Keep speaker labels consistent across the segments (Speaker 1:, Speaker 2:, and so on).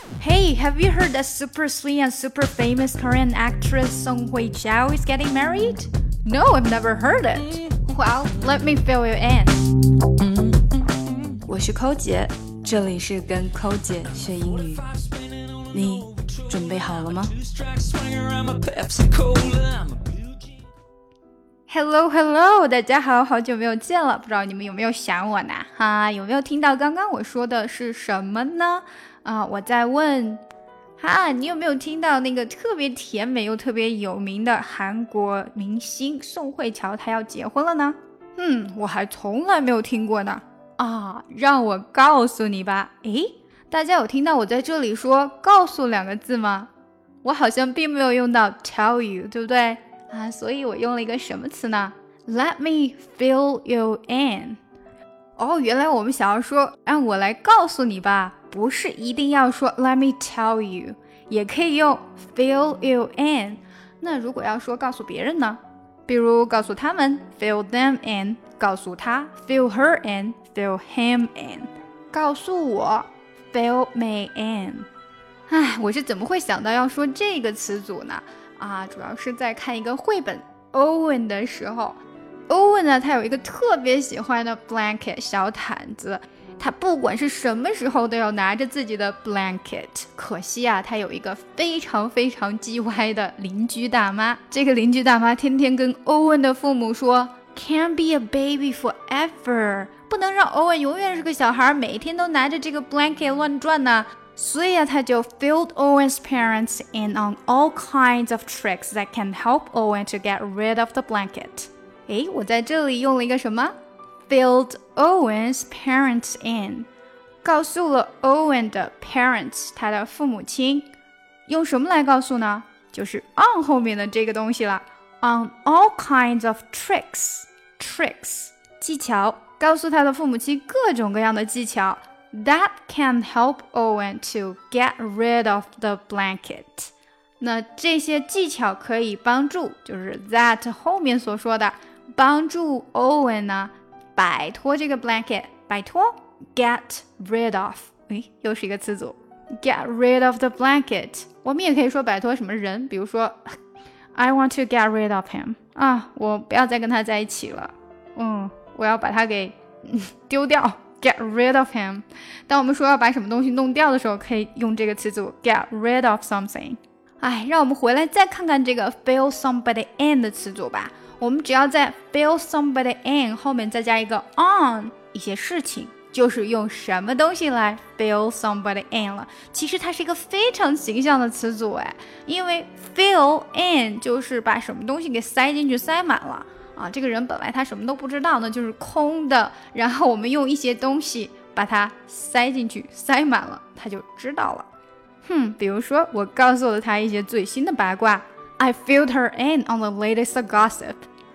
Speaker 1: Hey, have you heard that super sweet and super famous Korean actress Song Hui-chao is getting married? No, I've never heard it. Well, let me fill you in. 我是寇姐，这里是跟寇姐学英语。你准备好了吗？ Hello， 大家好，好久没有见了，不知道你们有没有想我呢？有没有听到刚刚我说的是什么呢？我在问，你有没有听到那个特别甜美又特别有名的韩国明星宋慧乔她要结婚了呢？我还从来没有听过呢。让我告诉你吧。大家有听到我在这里说告诉两个字吗？我好像并没有用到 tell you， 对不对？所以我用了一个什么词呢？ Let me fill you in。 原来我们想要说让我来告诉你吧，不是一定要说 Let me tell you， 也可以用 fill you in。 那如果要说告诉别人呢？比如告诉他们 fill them in， 告诉他 fill her in， fill him in， 告诉我 fill me in。 我是怎么会想到要说这个词组呢？主要是在看一个绘本 Owen 的时候， Owen 呢，他有一个特别喜欢的 blanket 小毯子，他不管是什么时候都要拿着自己的 blanket。 可惜他有一个非常非常叽歪的邻居大妈，这个邻居大妈天天跟 Owen 的父母说 Can't be a baby forever， 不能让 Owen 永远是个小孩，每天都拿着这个 blanket 乱转呢。所以他就 filled Owen's parents in on all kinds of tricks that can help Owen to get rid of the blanket。 我在这里用了一个什么 filled Owen's parents in， 告诉了 Owen 的 parents， 他的父母亲。用什么来告诉呢？就是 on 后面的这个东西了， on all kinds of tricks， 技巧，告诉他的父母亲各种各样的技巧That can help Owen to get rid of the blanket。 那这些技巧可以帮助，就是 that 后面所说的，帮助 Owen 呢摆脱这个 blanket， 摆脱 get rid of， 又是一个词组 get rid of the blanket。 我们也可以说摆脱什么人，比如说 I want to get rid of him， 我不要再跟他在一起了，我要把他给丢掉Get rid of him。 当我们说要把什么东西弄掉的时候，可以用这个词组 get rid of something。 让我们回来再看看这个 fill somebody in 的词组吧。我们只要在 fill somebody in 后面再加一个 on 一些事情，就是用什么东西来 fill somebody in 了。其实它是一个非常形象的词组因为 fill in 就是把什么东西给塞进去塞满了这个人本来他什么都不知道呢，就是空的，然后我们用一些东西把它塞进去塞满了，他就知道了。比如说我告诉了他一些最新的八卦， I filled her in on the latest gossip。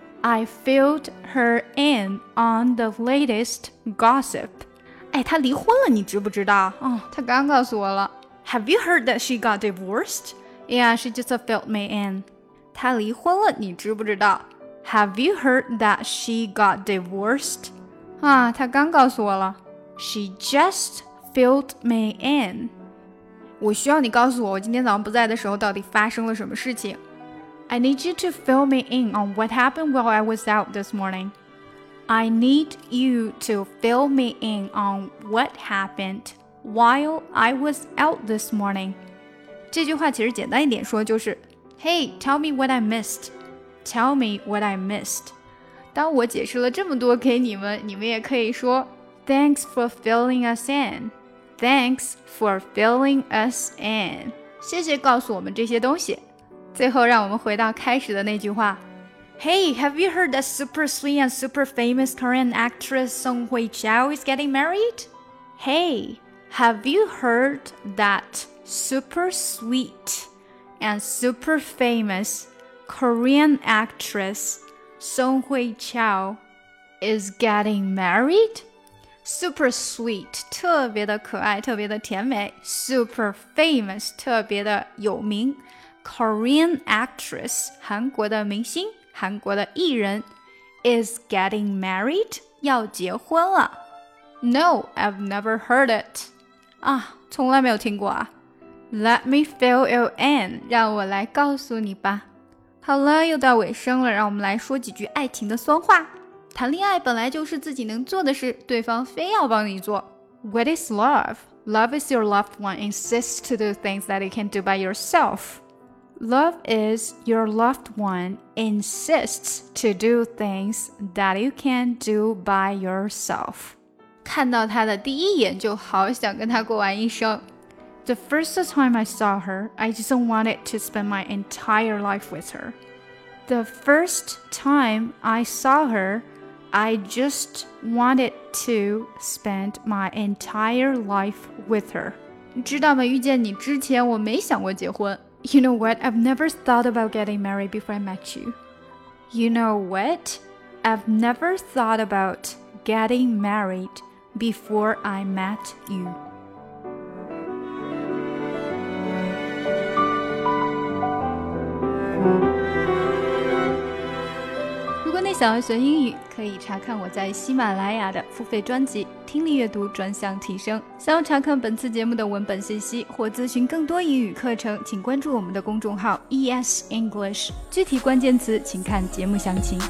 Speaker 1: I filled her in on the latest gossip。 他离婚了，你知不知道？他刚告诉我了。 Have you heard that she got divorced? Yeah, she just filled me in。 他离婚了，你知不知道？Have you heard that she got divorced? 她刚告诉我了。 She just filled me in。 我需要你告诉我今天早上不在的时候到底发生了什么事情。 I need you to fill me in on what happened while I was out this morning. I need you to fill me in on what happened while I was out this morning。 这句话其实简单一点说就是 Hey, tell me what I missed.Tell me what I missed。 当我解释了这么多给你们，你们也可以说 Thanks for filling us in。 Thanks for filling us in。 谢谢告诉我们这些东西。最后让我们回到开始的那句话， Hey, have you heard that super sweet and super famous Korean actress Song Hui-chao is getting married? Hey, have you heard that super sweet and super famous Korean actress Song Hui-chao is getting married? Super sweet 特别的可爱，特别的甜美。 Super famous 特别的有名。 Korean actress 韩国的明星，韩国的艺人 is getting married 要结婚了。 No, I've never heard it。 从来没有听过 Let me fill you in， 让我来告诉你吧。好了，又到尾声了，让我们来说几句爱情的酸话。谈恋爱本来就是自己能做的事，对方非要帮你做。What is love? Love is your loved one insists to do things that you can't do by yourself. Love is your loved one insists to do things that you can't do by yourself. 看到他的第一眼就好想跟他过完一生。The first time I saw her, I just wanted to spend my entire life with her. The first time I saw her, I just wanted to spend my entire life with her. 你知道吗？遇见你之前，我没想过结婚。You know what? I've never thought about getting married before I met you. You know what? I've never thought about getting married before I met you. 如果你想要学英语，可以查看我在喜马拉雅的付费专辑《听力阅读专项提升》。想要查看本次节目的文本信息或咨询更多英语课程，请关注我们的公众号 ES English， 具体关键词请看节目详情。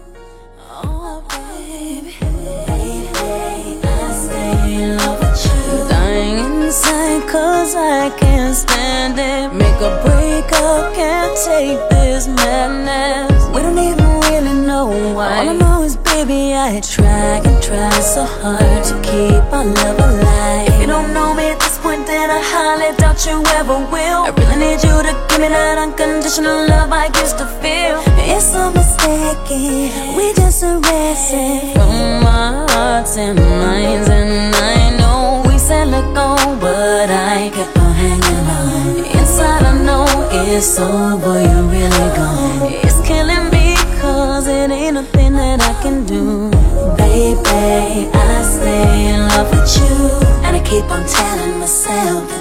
Speaker 2: Cause I can't stand it. Make a break up, can't take this madness. We don't even really know why. All I know is, baby, I try and try so hard to keep our love alive. If you don't know me at this point, then I highly doubt you ever will. I really need you to give me that unconditional love I used to feel. It's so mistaken, we just erasing from our hearts and minds. And I know we said let go, but I kept on hanging on. Inside I know it's over, you're really gone. It's killing me cause it ain't nothing that I can do. Baby, I stay in love with you, and I keep on telling myself